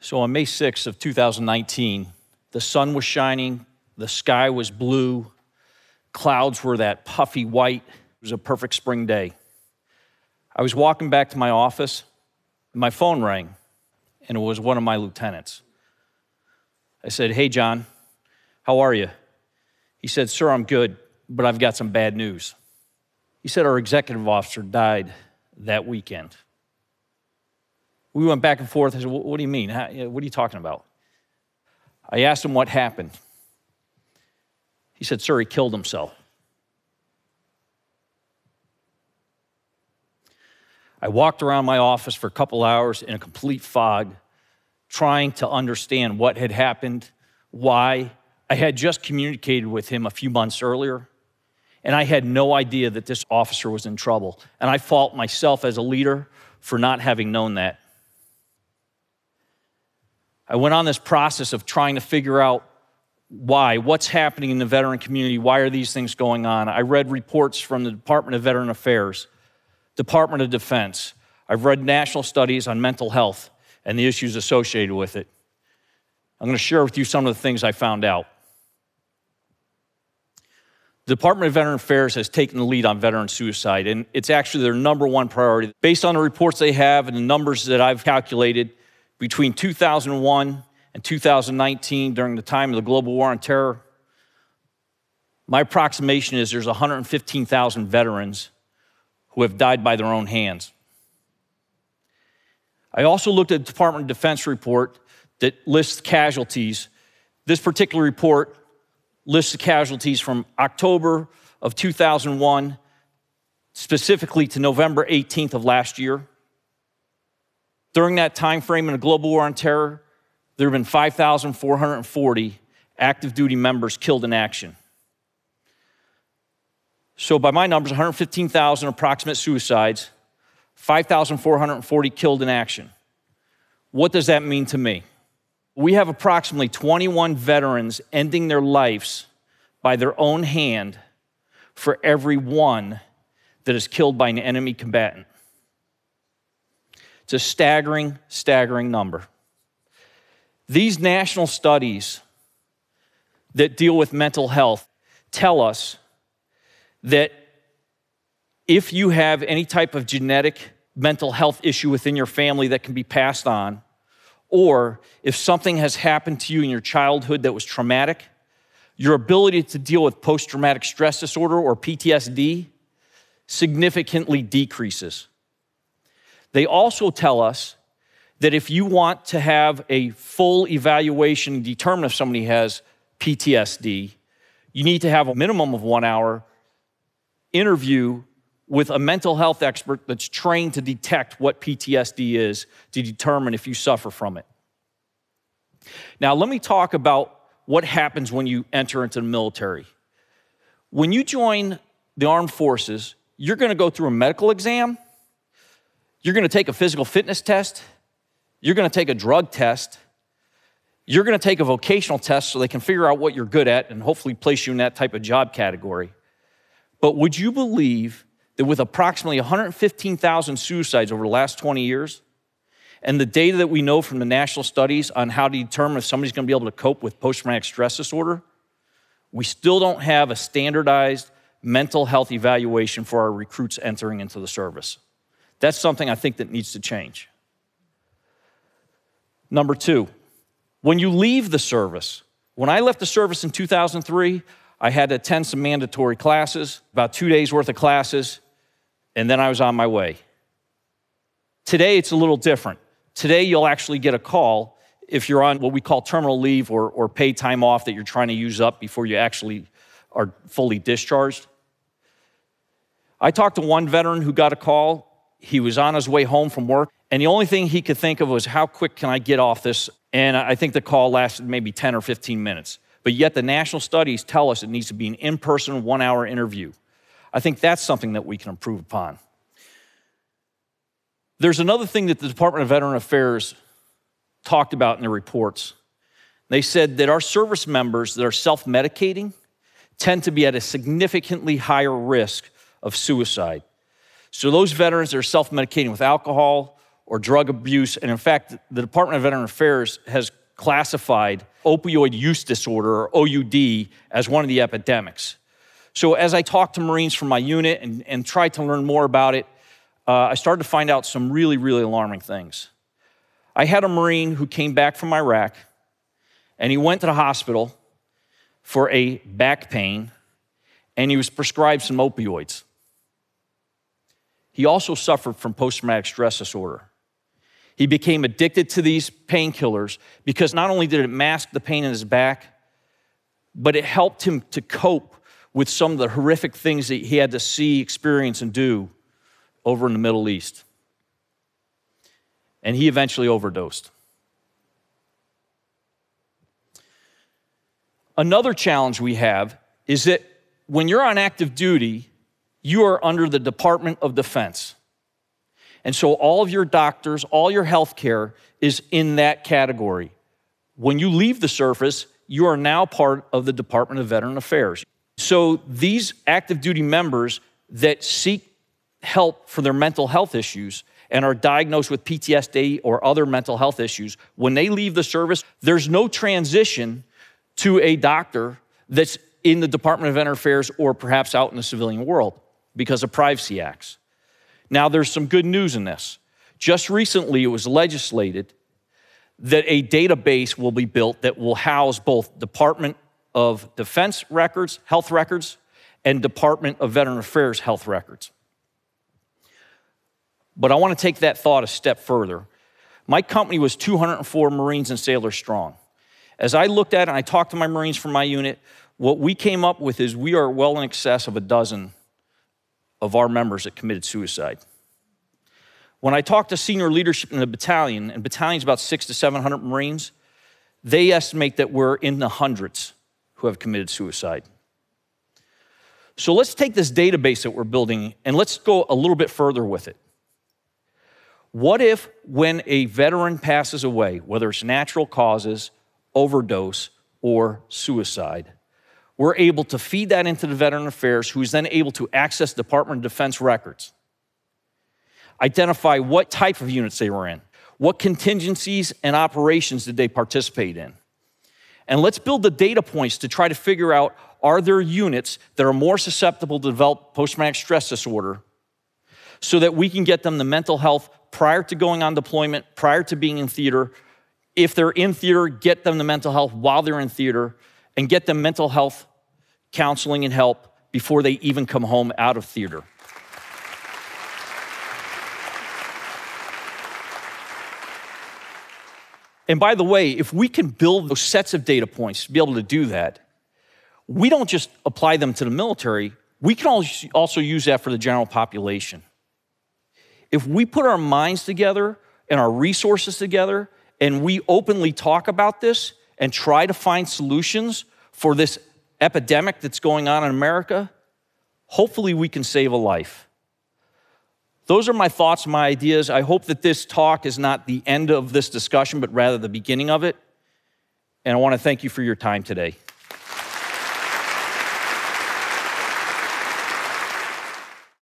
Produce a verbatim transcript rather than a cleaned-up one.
So on May sixth of two thousand nineteen, the sun was shining, the sky was blue, clouds were that puffy white. It was a perfect spring day. I was walking back to my office, and my phone rang, and it was one of my lieutenants. I said, "Hey, John, how are you?" He said, "Sir, I'm good, but I've got some bad news." He said, "Our executive officer died that weekend." We went back and forth. I said, "What do you mean? How, what are you talking about?" I asked him what happened. He said, "Sir, he killed himself." I walked around my office for a couple hours in a complete fog, trying to understand what had happened, why. I had just communicated with him a few months earlier, and I had no idea that this officer was in trouble. And I fault myself as a leader for not having known that. I went on this process of trying to figure out why, what's happening in the veteran community, why are these things going on? I read reports from the Department of Veteran Affairs, Department of Defense. I've read national studies on mental health and the issues associated with it. I'm going to share with you some of the things I found out. The Department of Veteran Affairs has taken the lead on veteran suicide, and it's actually their number one priority. Based on the reports they have and the numbers that I've calculated, between two thousand one and two thousand nineteen, during the time of the global war on terror, my approximation is there's one hundred fifteen thousand veterans who have died by their own hands. I also looked at the Department of Defense report that lists casualties. This particular report lists the casualties from October of two thousand one, specifically to November eighteenth of last year. During that time frame in the global war on terror, there have been five thousand four hundred forty active duty members killed in action. So by my numbers, one hundred fifteen thousand approximate suicides, five thousand four hundred forty killed in action. What does that mean to me? We have approximately twenty-one veterans ending their lives by their own hand for every one that is killed by an enemy combatant. It's a staggering, staggering number. These national studies that deal with mental health tell us that if you have any type of genetic mental health issue within your family that can be passed on, or if something has happened to you in your childhood that was traumatic, your ability to deal with post-traumatic stress disorder or P T S D significantly decreases. They also tell us that if you want to have a full evaluation and determine if somebody has P T S D, you need to have a minimum of one hour interview with a mental health expert that's trained to detect what P T S D is to determine if you suffer from it. Now, let me talk about what happens when you enter into the military. When you join the armed forces, you're going to go through a medical exam, you're going to take a physical fitness test, you're going to take a drug test, you're going to take a vocational test so they can figure out what you're good at and hopefully place you in that type of job category. But would you believe that with approximately one hundred fifteen thousand suicides over the last twenty years, and the data that we know from the national studies on how to determine if somebody's going to be able to cope with post-traumatic stress disorder, we still don't have a standardized mental health evaluation for our recruits entering into the service. That's something I think that needs to change. Number two, when you leave the service, when I left the service in two thousand three, I had to attend some mandatory classes, about two days worth of classes, and then I was on my way. Today, it's a little different. Today, you'll actually get a call if you're on what we call terminal leave or, or paid time off that you're trying to use up before you actually are fully discharged. I talked to one veteran who got a call. He was on his way home from work, and the only thing he could think of was, how quick can I get off this? And I think the call lasted maybe ten or fifteen minutes. But yet the national studies tell us it needs to be an in-person, one-hour interview. I think that's something that we can improve upon. There's another thing that the Department of Veteran Affairs talked about in their reports. They said that our service members that are self-medicating tend to be at a significantly higher risk of suicide. So those veterans that are self-medicating with alcohol or drug abuse. And in fact, the Department of Veteran Affairs has classified opioid use disorder, or O U D, as one of the epidemics. So as I talked to Marines from my unit and, and tried to learn more about it, uh, I started to find out some really, really alarming things. I had a Marine who came back from Iraq, and he went to the hospital for a back pain, and he was prescribed some opioids. He also suffered from post-traumatic stress disorder. He became addicted to these painkillers because not only did it mask the pain in his back, but it helped him to cope with some of the horrific things that he had to see, experience, and do over in the Middle East. And he eventually overdosed. Another challenge we have is that when you're on active duty, you are under the Department of Defense. And so all of your doctors, all your health care is in that category. When you leave the service, you are now part of the Department of Veteran Affairs. So these active duty members that seek help for their mental health issues and are diagnosed with P T S D or other mental health issues, when they leave the service, there's no transition to a doctor that's in the Department of Veteran Affairs or perhaps out in the civilian world because of privacy acts. Now, there's some good news in this. Just recently, it was legislated that a database will be built that will house both Department of Defense records, health records, and Department of Veteran Affairs health records. But I want to take that thought a step further. My company was two hundred four Marines and sailors strong. As I looked at it and I talked to my Marines from my unit, what we came up with is we are well in excess of a dozen of our members that committed suicide. When I talked to senior leadership in the battalion, and battalion's about six to seven hundred Marines, they estimate that we're in the hundreds who have committed suicide. So let's take this database that we're building and let's go a little bit further with it. What if when a veteran passes away, whether it's natural causes, overdose, or suicide, we're able to feed that into the Veteran Affairs, who is then able to access Department of Defense records, identify what type of units they were in, what contingencies and operations did they participate in. And let's build the data points to try to figure out, are there units that are more susceptible to develop post-traumatic stress disorder so that we can get them the mental health prior to going on deployment, prior to being in theater. If they're in theater, get them the mental health while they're in theater, and get them mental health counseling and help before they even come home out of theater. And by the way, if we can build those sets of data points to be able to do that, we don't just apply them to the military, we can also use that for the general population. If we put our minds together and our resources together and we openly talk about this and try to find solutions for this epidemic that's going on in America, hopefully we can save a life. Those are my thoughts, my ideas. I hope that this talk is not the end of this discussion, but rather the beginning of it. And I want to thank you for your time today.